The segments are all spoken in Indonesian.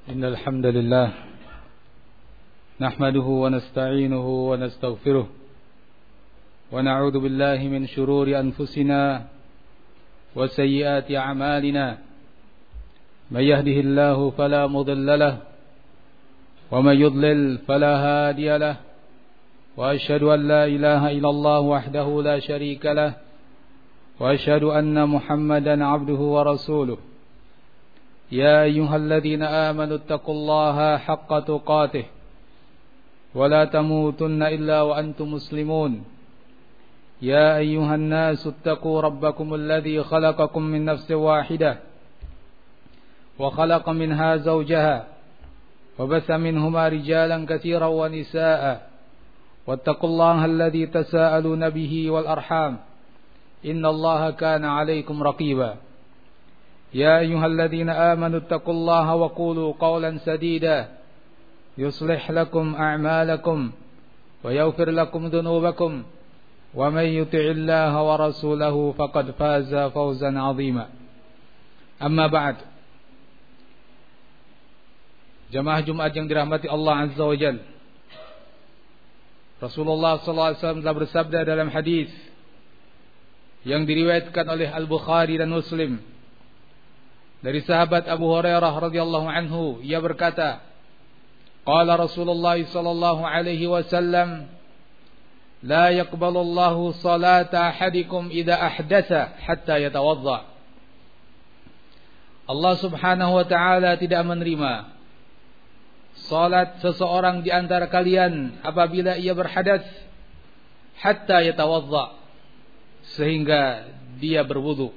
إن الحمد لله نحمده ونستعينه ونستغفره ونعوذ بالله من شرور أنفسنا وسيئات أعمالنا من يهده الله فلا مضل له ومن يضلل فلا هادي له وأشهد أن لا إله إلا الله وحده لا شريك له وأشهد أن محمدا عبده ورسوله يا أيها الذين آمنوا اتقوا الله حق تقاته ولا تموتن إلا وأنتم مسلمون يا أيها الناس اتقوا ربكم الذي خلقكم من نفس واحدة وخلق منها زوجها وبث منهما رجالا كثيرا ونساء واتقوا الله الذي تساءلون به والأرحام إن الله كان عليكم رقيبا يا أيها الذين آمنوا اتقوا الله وقولوا قولا سديدا يصلح لكم أعمالكم ويغفر لكم ذنوبكم ومن يطع الله ورسوله فقد فاز فوزا عظيما أما بعد. Jamaah Jumat yang dirahmati Allah Azza wa Jalla, Rasulullah SAW telah bersabda dalam hadis yang diriwayatkan oleh Al-Bukhari dan Muslim dari sahabat Abu Hurairah radhiyallahu anhu, ia berkata, qala Rasulullah sallallahu alaihi wasallam, la yaqbalu Allahu salata ahadikum idza ahdatsa hatta yatawadda. Allah Subhanahu wa taala tidak menerima salat seseorang di antara kalian apabila ia berhadas hatta yatawadda, sehingga dia berwudu.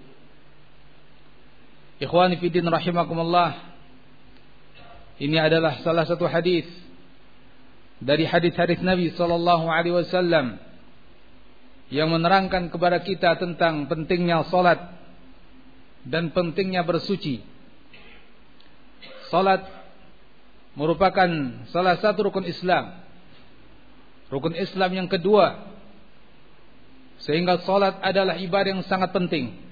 Ikhwani fiddin rahimakumullah, ini adalah salah satu hadis dari hadis-hadis Nabi sallallahu alaihi wasallam yang menerangkan kepada kita tentang pentingnya salat dan pentingnya bersuci. Salat merupakan salah satu rukun Islam. Rukun Islam yang kedua, sehingga salat adalah ibadah yang sangat penting.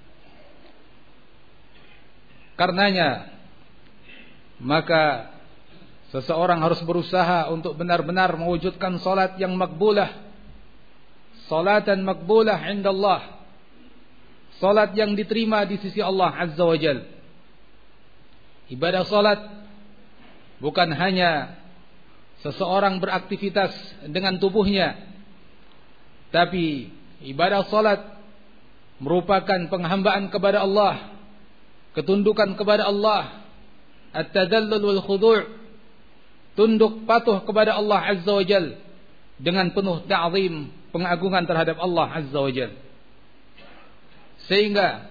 Karenanya maka seseorang harus berusaha untuk benar-benar mewujudkan salat yang makbulah, salatan makbulah indallah, salat yang diterima di sisi Allah Azza wa Jalla. Ibadah salat bukan hanya seseorang beraktivitas dengan tubuhnya, tapi ibadah salat merupakan penghambaan kepada Allah, ketundukan kepada Allah, at-tadallul wal khudu', tunduk patuh kepada Allah Azza wa Jalla dengan penuh ta'zim, pengagungan terhadap Allah Azza wa Jalla. Sehingga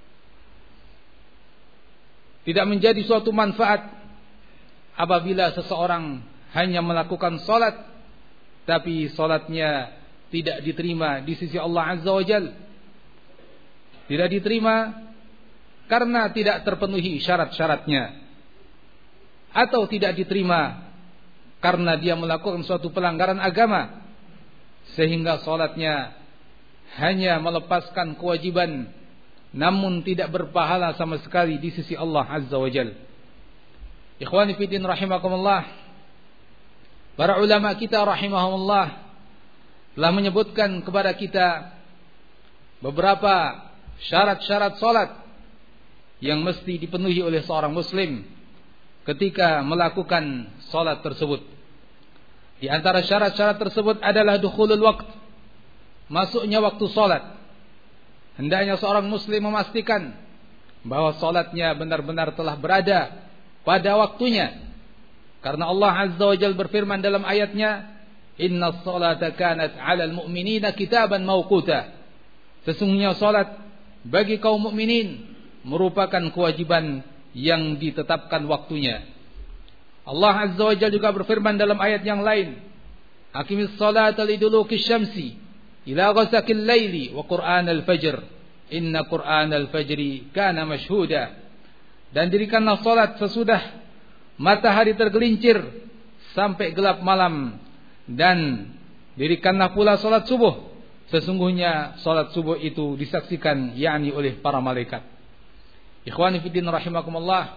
tidak menjadi suatu manfaat apabila seseorang hanya melakukan salat tapi salatnya tidak diterima di sisi Allah Azza wa Jalla. Tidak diterima karena tidak terpenuhi syarat-syaratnya, atau tidak diterima karena dia melakukan suatu pelanggaran agama, sehingga salatnya hanya melepaskan kewajiban namun tidak berpahala sama sekali di sisi Allah Azza wa Jalla. Ikhwani fiddin rahimakumullah, para ulama kita rahimahumullah telah menyebutkan kepada kita beberapa syarat-syarat salat yang mesti dipenuhi oleh seorang muslim ketika melakukan salat tersebut. Di antara syarat-syarat tersebut adalah dukhulul waqt, masuknya waktu salat. Hendaknya seorang muslim memastikan bahwa salatnya benar-benar telah berada pada waktunya. Karena Allah Azza wa Jalla berfirman dalam ayatnya, innas salata kanat 'alal mu'minina kitaban mawquta. Sesungguhnya salat bagi kaum mukminin merupakan kewajiban yang ditetapkan waktunya. Allah Azza wa Jalla juga berfirman dalam ayat yang lain, aqimis salata liduluki syamsi ila ghasaqil laili wa qur'anal fajr inna qur'anal fajri kana mashhuda. Dan dirikanlah salat sesudah matahari tergelincir sampai gelap malam, dan dirikanlah pula salat subuh, sesungguhnya salat subuh itu disaksikan yakni oleh para malaikat. Ikhwani fiddin rahimakumullah,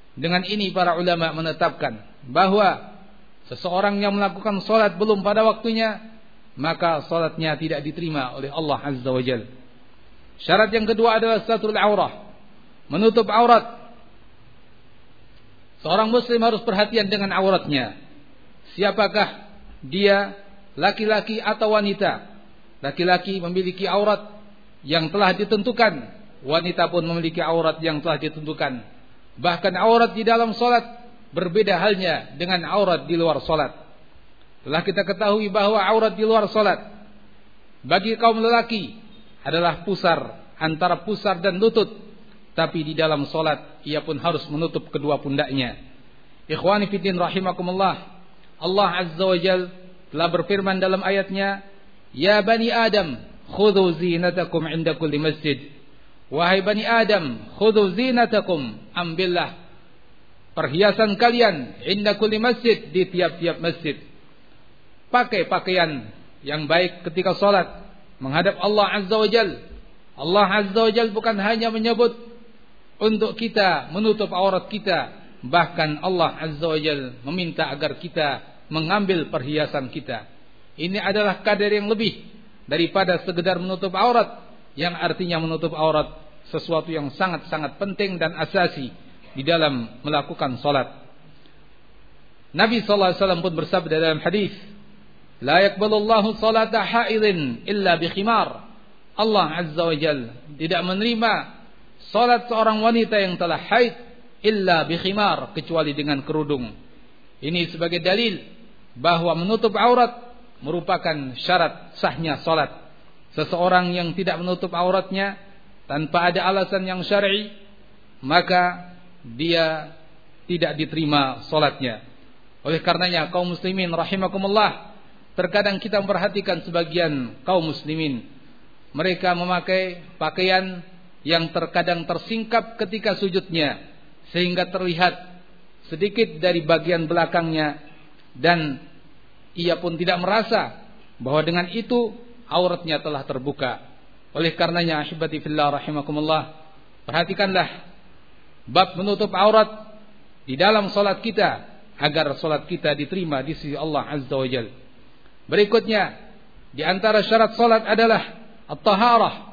Dengan ini para ulama menetapkan bahwa seseorang yang melakukan salat belum pada waktunya, maka salatnya tidak diterima oleh Allah Azza wa Jalla. Syarat yang kedua adalah satrul aurah, menutup aurat. Seorang muslim harus perhatian dengan auratnya. Siapakah dia, laki-laki atau wanita? Laki-laki memiliki aurat yang telah ditentukan, wanita pun memiliki aurat yang telah ditentukan. Bahkan aurat di dalam salat berbeda halnya dengan aurat di luar salat. Telah kita ketahui bahwa aurat di luar salat bagi kaum lelaki adalah pusar, antara pusar dan lutut. Tapi di dalam salat ia pun harus menutup kedua pundaknya. Ikhwani fiddin rahimakumullah, Allah Azza wa Jalla telah berfirman dalam ayatnya, "Ya bani Adam, khudhu zinatakum 'inda kulli masjid." Wahai bani Adam, khudhu zinatakum, ambillah perhiasan kalian 'inda kulli masjid, di tiap-tiap masjid. Pakai pakaian yang baik ketika salat menghadap Allah Azza wa Jalla. Allah Azza wa Jalla bukan hanya menyebut untuk kita menutup aurat kita, bahkan Allah Azza wa Jalla meminta agar kita mengambil perhiasan kita. Ini adalah kadar yang lebih daripada sekedar menutup aurat, yang artinya menutup aurat sesuatu yang sangat-sangat penting dan asasi di dalam melakukan salat. Nabi sallallahu alaihi wasallam pun bersabda dalam hadis, "La yaqbalullahu salata haidin illa bi khimar." Allah Azza wa Jalla tidak menerima salat seorang wanita yang telah haid illa bi khimar, kecuali dengan kerudung. Ini sebagai dalil bahwa menutup aurat merupakan syarat sahnya salat. Seseorang yang tidak menutup auratnya tanpa ada alasan yang syar'i, maka dia tidak diterima salatnya. Oleh karenanya kaum muslimin rahimakumullah, terkadang kita memperhatikan sebagian kaum muslimin, mereka memakai pakaian yang terkadang tersingkap ketika sujudnya, sehingga terlihat sedikit dari bagian belakangnya, dan ia pun tidak merasa bahwa dengan itu auratnya telah terbuka. Oleh karenanya ahibati fillah rahimakumullah, perhatikanlah bab menutup aurat di dalam salat kita, agar salat kita diterima di sisi Allah Azza wa Jalla. Berikutnya, di antara syarat salat adalah at-taharah,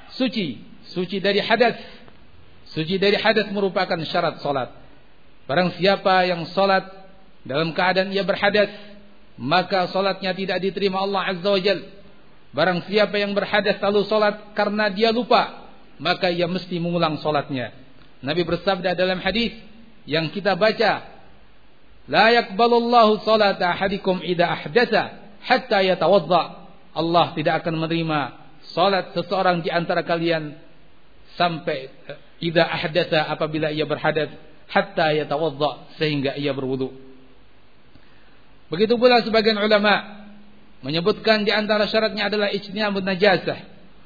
suci dari hadas. Suci dari hadas merupakan syarat salat. Barang siapa yang salat dalam keadaan ia berhadas, maka salatnya tidak diterima Allah Azza wa Jalla. Barang siapa yang berhadas lalu salat karena dia lupa, maka ia mesti mengulang salatnya. Nabi bersabda dalam hadis yang kita baca, "La yaqbalullahu salata ahadikum idza ahdatsa hatta yatawadda." Allah tidak akan menerima salat seseorang di antara kalian sampai idza ahdatsa, apabila ia berhadas, hatta yatawadda, sehingga ia berwudu. Begitu pula sebagian ulama menyebutkan di antara syaratnya adalah ijtinabun najasah,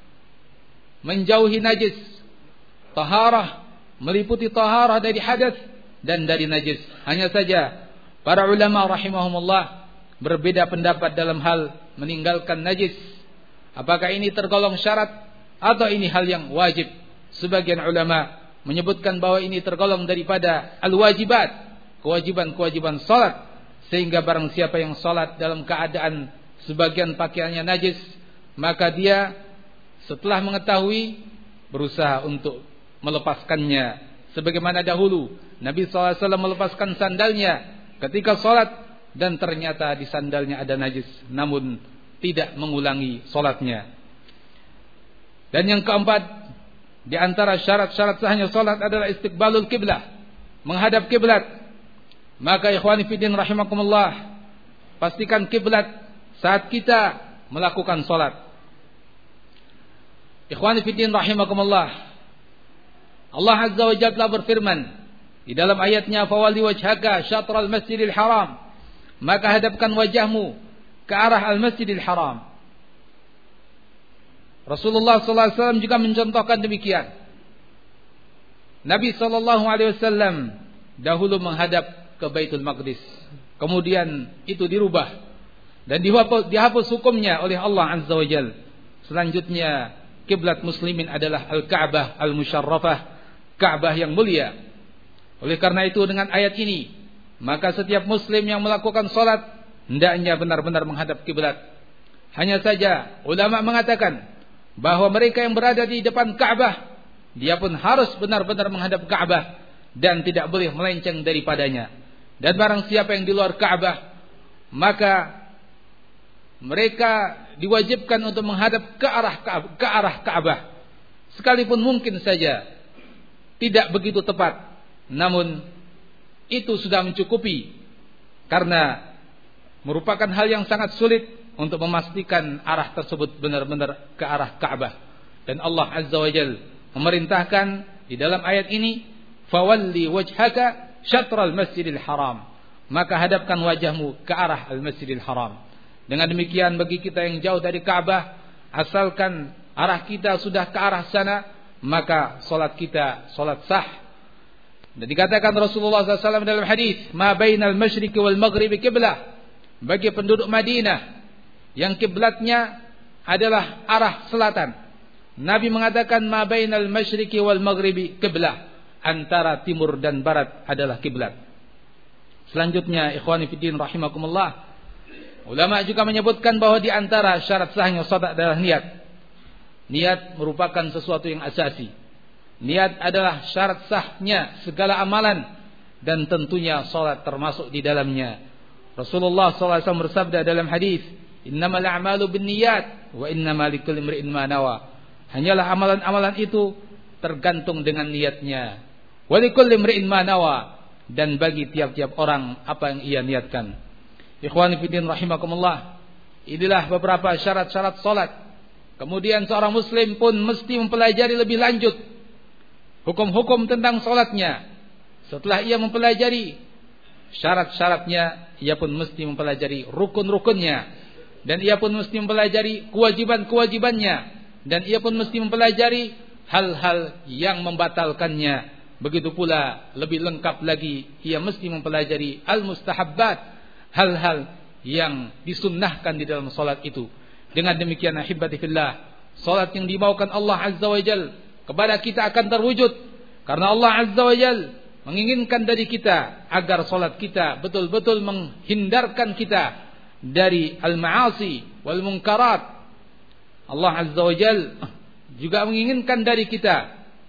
menjauhi najis. Taharah meliputi taharah dari hadas dan dari najis. Hanya saja para ulama rahimahumullah berbeda pendapat dalam hal meninggalkan najis. Apakah ini tergolong syarat atau ini hal yang wajib? Sebagian ulama menyebutkan bahwa ini tergolong daripada al-wajibat, kewajiban-kewajiban salat, sehingga barang siapa yang salat dalam keadaan sebagian pakaiannya najis, maka dia setelah mengetahui berusaha untuk melepaskannya, sebagaimana dahulu Nabi SAW melepaskan sandalnya ketika salat dan ternyata di sandalnya ada najis, namun tidak mengulangi salatnya. Dan yang keempat, di antara syarat-syarat sahnya salat adalah istiqbalul kiblah, menghadap kiblat. Maka ikhwani fiddin rahimakumullah, pastikan kiblat saat kita melakukan salat. Ikhwani fiddin rahimakumullah, Allah Azza wa Jalla berfirman di dalam ayatnya, "Fawalli wajhaka syatral masjidil haram." Maka hadapkan wajahmu ke arah al-masjidil haram. Rasulullah sallallahu alaihi wasallam juga mencontohkan demikian. Nabi sallallahu alaihi wasallam dahulu menghadap ke Baitul Maqdis, kemudian itu dirubah dan dihapus hukumnya oleh Allah Azza wa Jalla. Selanjutnya kiblat muslimin adalah Al-Ka'bah Al-Musyarrafah, Ka'bah yang mulia. Oleh karena itu dengan ayat ini, maka setiap muslim yang melakukan salat hendaknya benar-benar menghadap kiblat. Hanya saja ulama mengatakan bahwa mereka yang berada di depan Ka'bah, dia pun harus benar-benar menghadap Ka'bah dan tidak boleh melenceng daripadanya. Dan barang siapa yang di luar Ka'bah, maka mereka diwajibkan untuk menghadap ke arah Ka'bah. Sekalipun mungkin saja tidak begitu tepat, namun itu sudah mencukupi, karena merupakan hal yang sangat sulit untuk memastikan arah tersebut benar-benar ke arah Ka'bah. Dan Allah Azza wa Jalla memerintahkan di dalam ayat ini, fawalli wajhaka syatral masjidil haram, maka hadapkan wajahmu ke arah al-masjidil haram. Dengan demikian bagi kita yang jauh dari Ka'bah, asalkan arah kita sudah ke arah sana, maka salat kita salat sah. Dan dikatakan Rasulullah SAW dalam hadis, ma bainal masyriqi wal maghribi qiblah, bagi penduduk Madinah yang kiblatnya adalah arah selatan. Nabi mengatakan ma bainal masyriqi wal maghribi qiblah, antara timur dan barat adalah kiblat. Selanjutnya ikhwani fiddin rahimakumullah, ulama juga menyebutkan bahwa di antara syarat sahnya salat adalah niat. Niat merupakan sesuatu yang asasi. Niat adalah syarat sahnya segala amalan, dan tentunya salat termasuk di dalamnya. Rasulullah SAW bersabda dalam hadis, innamal a'malu binniyat wa innamal likulli imri'in ma nawa. Hanyalah amalan-amalan itu tergantung dengan niatnya. Wa likulli imri'in ma nawa, dan bagi tiap-tiap orang apa yang ia niatkan. Ikhwani fillah rahimakumullah, inilah beberapa syarat-syarat salat. Kemudian seorang muslim pun mesti mempelajari lebih lanjut hukum-hukum tentang salatnya. Setelah ia mempelajari syarat-syaratnya, ia pun mesti mempelajari rukun-rukunnya, dan ia pun mesti mempelajari kewajiban-kewajibannya, dan ia pun mesti mempelajari hal-hal yang membatalkannya. Begitu pula lebih lengkap lagi, ia mesti mempelajari al-mustahabbat, hal-hal yang disunnahkan di dalam salat itu. Dengan demikian ahibati fillah, salat yang dimaukan Allah Azza wa Jalla kepada kita akan terwujud, karena Allah Azza wa Jalla menginginkan dari kita agar salat kita betul-betul menghindarkan kita dari al-ma'asi wal munkarat. Allah Azza wa Jalla juga menginginkan dari kita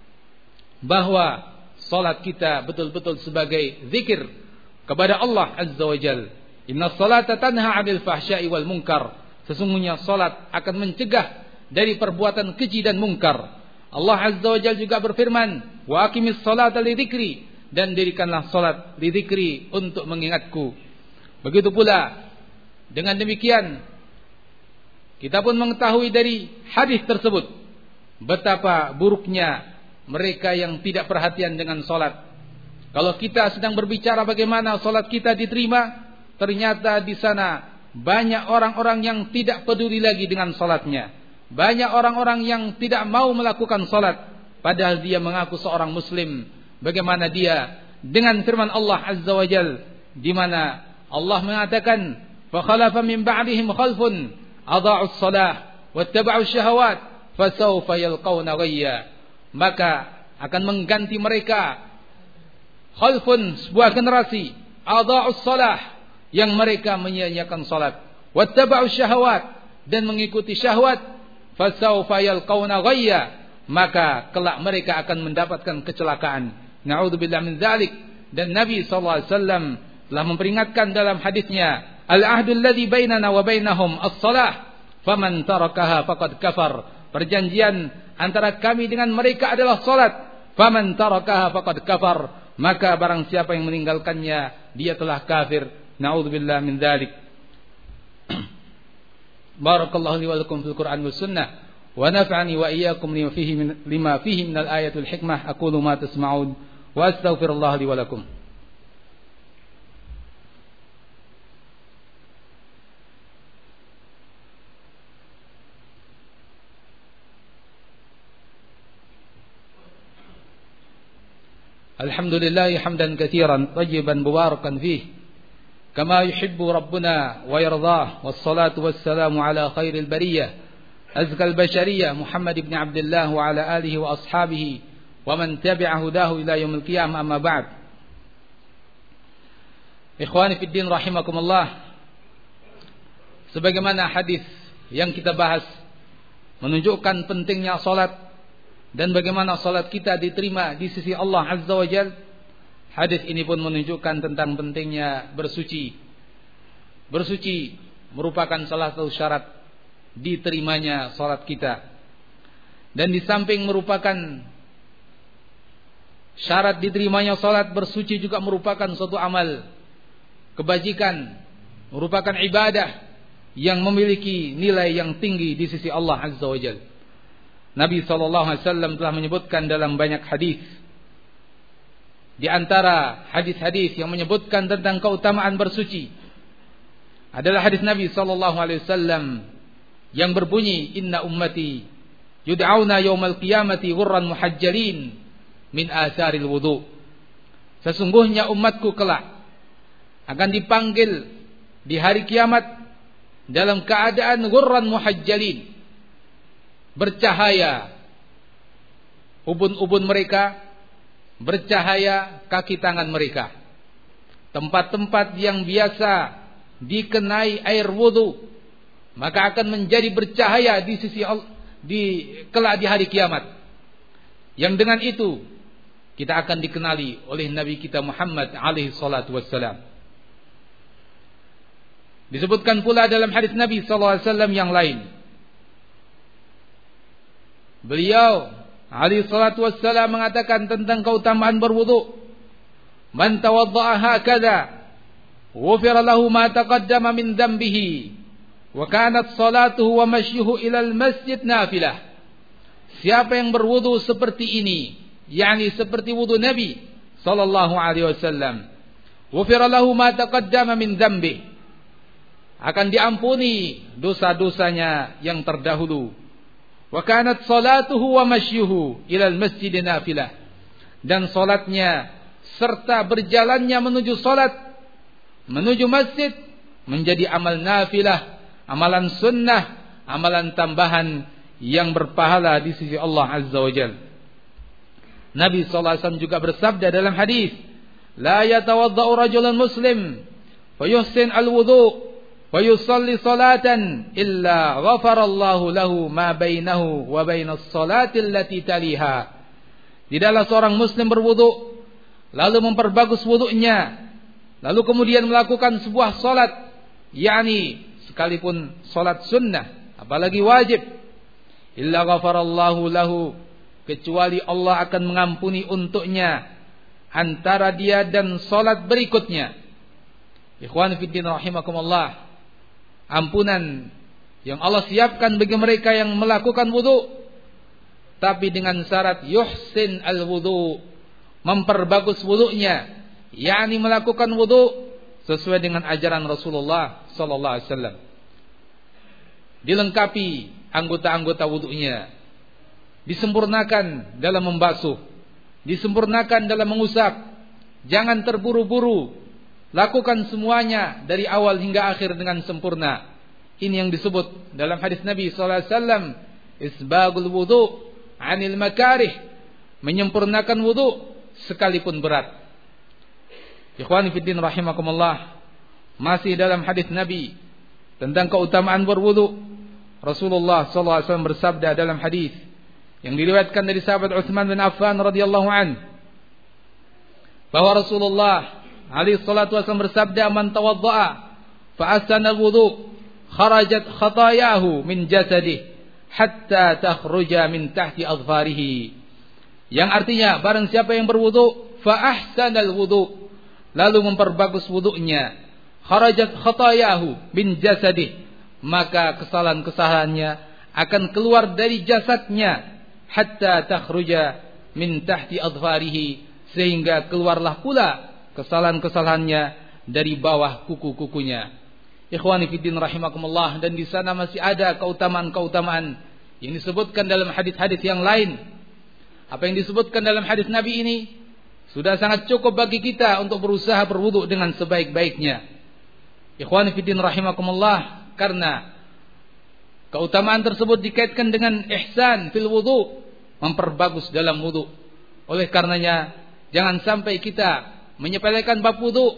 bahwa salat kita betul-betul sebagai zikir kepada Allah Azza wa Jalla. Inna salata tanha 'anil fahsya'i wal munkar. Sesungguhnya salat akan mencegah dari perbuatan keji dan mungkar. Allah Azza wa Jalla juga berfirman, wa aqimis salata li dzikri, dan dirikanlah salat li dzikri, untuk mengingatku. Begitu pula dengan demikian kita pun mengetahui dari hadis tersebut betapa buruknya mereka yang tidak perhatian dengan salat. Kalau kita sedang berbicara bagaimana salat kita diterima, ternyata di sana banyak orang-orang yang tidak peduli lagi dengan salatnya. Banyak orang-orang yang tidak mau melakukan salat, padahal dia mengaku seorang muslim. Bagaimana dia dengan firman Allah Azza wa Jalla, di mana Allah mengatakan, fa khalafa min ba'dihim khalfun adha'us shalah wattaba'us syahawat fasawfa yalqawna ghayya. Maka akan mengganti mereka khalfun, sebuah generasi, adha'us shalah, yang mereka menyia-nyiakan salat, wattaba'us syahawat, dan mengikuti syahwat, fasawfa yalqawna ghayya, maka kelak mereka akan mendapatkan kecelakaan. Na'udzubillah min dzalik. Dan Nabi SAW telah memperingatkan dalam hadisnya, al-ahdul ladzi bainana wa bainahum as-salah, faman tarakaha faqad kafar. Perjanjian antara kami dengan mereka adalah salat, faman tarakaha faqad kafar, maka barang siapa yang meninggalkannya, dia telah kafir. Na'udzubillah min dzalik. Barakallahu li wa lakum fil Qur'an was sunnah, wa nafa'ani wa iyyakum lima fihi min al-ayatil hikmah. Aqulu ma tasma'un wa astaghfirullah li wa lakum. Alhamdulillah hamdan katsiran tayyiban mubarakan fihi kama yuhibbu rabbuna wa yardah, wassalatu wassalamu ala khairil bariyah azkal bashariyah Muhammad ibn Abdullah wa ala alihi wa ashabihi wa man tabi'a hudahu ila yaumil qiyamah, amma ba'd. Ikhwani fid din rahimakumullah, sebagaimana hadis yang kita bahas menunjukkan pentingnya salat dan bagaimana salat kita diterima di sisi Allah Azza wa Jalla, hadis ini pun menunjukkan tentang pentingnya bersuci. Bersuci merupakan salah satu syarat diterimanya salat kita. Dan di samping merupakan syarat diterimanya salat, bersuci juga merupakan suatu amal kebajikan, merupakan ibadah yang memiliki nilai yang tinggi di sisi Allah Azza wa Jalla. Nabi SAW telah menyebutkan dalam banyak hadis. Di antara hadis-hadis yang menyebutkan tentang keutamaan bersuci adalah hadis Nabi SAW yang berbunyi, Inna ummati yud'auna yawmal qiyamati ghurran muhajjalin min atharil wudu. Sesungguhnya umatku kelak akan dipanggil di hari kiamat dalam keadaan ghurran muhajjalin, bercahaya ubun-ubun mereka, bercahaya kaki tangan mereka. Tempat-tempat yang biasa dikenai air wudu maka akan menjadi bercahaya di sisi Allah kelak di hari kiamat. Yang dengan itu kita akan dikenali oleh Nabi kita Muhammad alaihi salatu wassalam. Disebutkan pula dalam hadis Nabi SAW yang lain, beliau alaihi salatu wassalam mengatakan tentang keutamaan berwudu, man tawadda'a hakadha ghufira lahu ma taqaddama min dhanbihi wa kanat salatuhu wa mashyuhu ilal masjid nafilah. Siapa yang berwudu seperti ini, yakni seperti wudu Nabi sallallahu alaihi wasallam, ghufira lahu ma taqaddama min dhanbihi, akan diampuni dosa-dosanya yang terdahulu. Wa kanat salatuhu wa mashyuhu ilal masjid nafilah, dan salatnya serta berjalannya menuju salat, menuju masjid menjadi amal nafilah, amalan sunnah, amalan tambahan yang berpahala di sisi Allah Azza wa Jalla. Nabi SAW juga bersabda dalam hadis, la yatawadda'u rajulun muslim fayuhsin al-wudu' wa yusalli salatan illa ghafarallahu lahu ma bainahu wa bainas salati allati taliha. Tidaklah seorang muslim berwudu lalu memperbagus wudunya, lalu kemudian melakukan sebuah salat, yakni sekalipun salat sunnah, apalagi wajib, illa ghafarallahu lahu, kecuali Allah akan mengampuni untuknya antara dia dan salat berikutnya. Ikhwan fillah rahimakumullah, ampunan yang Allah siapkan bagi mereka yang melakukan wudu, tapi dengan syarat yuhsin al-wudu, memperbagus wudunya, yakni melakukan wudu sesuai dengan ajaran Rasulullah sallallahu alaihi wasallam. Dilengkapi anggota-anggota wudunya, disempurnakan dalam membasuh, disempurnakan dalam mengusap. Jangan terburu-buru, lakukan semuanya dari awal hingga akhir dengan sempurna. Ini yang disebut dalam hadis Nabi sallallahu alaihi wasallam, isbagul wudu 'anil makarih, menyempurnakan wudu sekalipun berat. Ikhwani fiddin rahimakumullah, masih dalam hadis Nabi tentang keutamaan berwudu, Rasulullah sallallahu alaihi wasallam bersabda dalam hadis yang diriwayatkan dari sahabat Utsman bin Affan radhiyallahu an, bahwa Rasulullah alaihi salatu wasallam bersabda, man tawadda'a fa ahsana al-wudu kharajat khatayahu min jasadihi hatta takhruja min tahti adfarihi. Yang artinya, barang siapa yang berwudu fa ahsana al-wudu, lalu memperbagus wudunya, kharajat khatayahu min jasadihi, maka kesalahan-kesalahannya akan keluar dari jasadnya, hatta takhruja min tahti adfarihi, sehingga keluarlah pula kesalahan-kesalahannya dari bawah kuku-kukunya. Ikhwani fiddin rahimakumullah, dan di sana masih ada keutamaan-keutamaan yang disebutkan dalam hadis-hadis yang lain. Apa yang disebutkan dalam hadis Nabi ini sudah sangat cukup bagi kita untuk berusaha berwudu dengan sebaik-baiknya. Ikhwani fiddin rahimakumullah, karena keutamaan tersebut dikaitkan dengan ihsan fil wudu, memperbagus dalam wudu. Oleh karenanya jangan sampai kita menyepelekan bab wudu,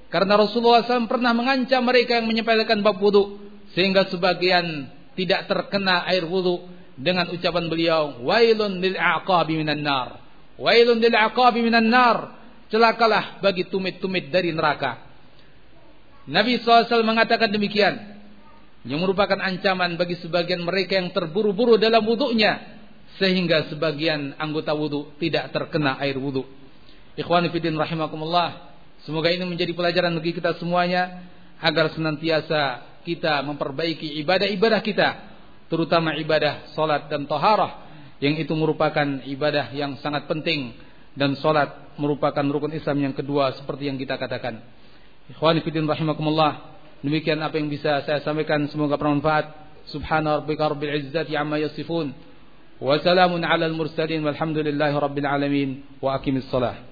Karena Rasulullah SAW pernah mengancam mereka yang menyepelekan bab wudu, sehingga sebagian tidak terkena air wudu dengan ucapan beliau, wailun lil aqabi minan nar, wailun lil aqabi minan nar, celakalah bagi tumit-tumit dari neraka. Nabi SAW mengatakan demikian, yang merupakan ancaman bagi sebagian mereka yang terburu-buru dalam wudunya, sehingga sebagian anggota wudu tidak terkena air wudu. Ikhwani fillah rahimakumullah, semoga ini menjadi pelajaran bagi kita semuanya, agar senantiasa kita memperbaiki ibadah-ibadah kita, terutama ibadah salat dan taharah, yang itu merupakan ibadah yang sangat penting, dan salat merupakan rukun Islam yang kedua seperti yang kita katakan. Ikhwani fillah rahimakumullah, demikian apa yang bisa saya sampaikan, semoga bermanfaat. Subhana rabbika rabbil izzati amma yasifun, wa salamun alal mursalin, walhamdulillahi rabbil alamin, wa aqimis shalah.